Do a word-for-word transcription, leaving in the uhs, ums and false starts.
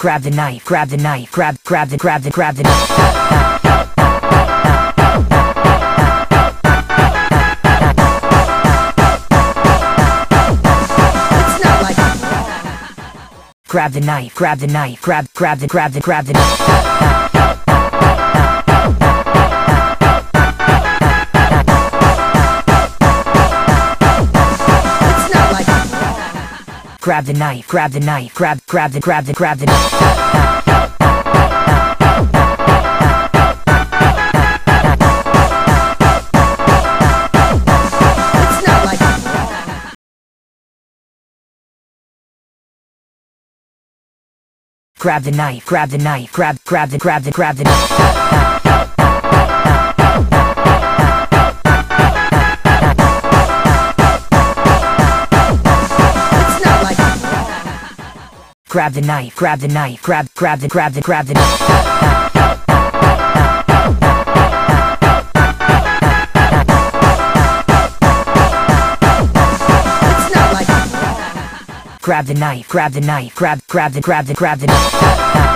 grab the knife, grab the knife, grab, grab the, grab the, grab the knife. Grab the knife, grab the knife, grab, grab the, grab the, grab the knife. Grab the knife, grab the knife, grab, grab the, grab the, grab the knife. Grab the knife, grab the knife, grab, grab the, grab the, grab the knife. Grab the knife, grab the knife, grab, grab the, grab the, grab the knife. Grab the knife, grab the knife, grab, grab the, grab the, grab the knife.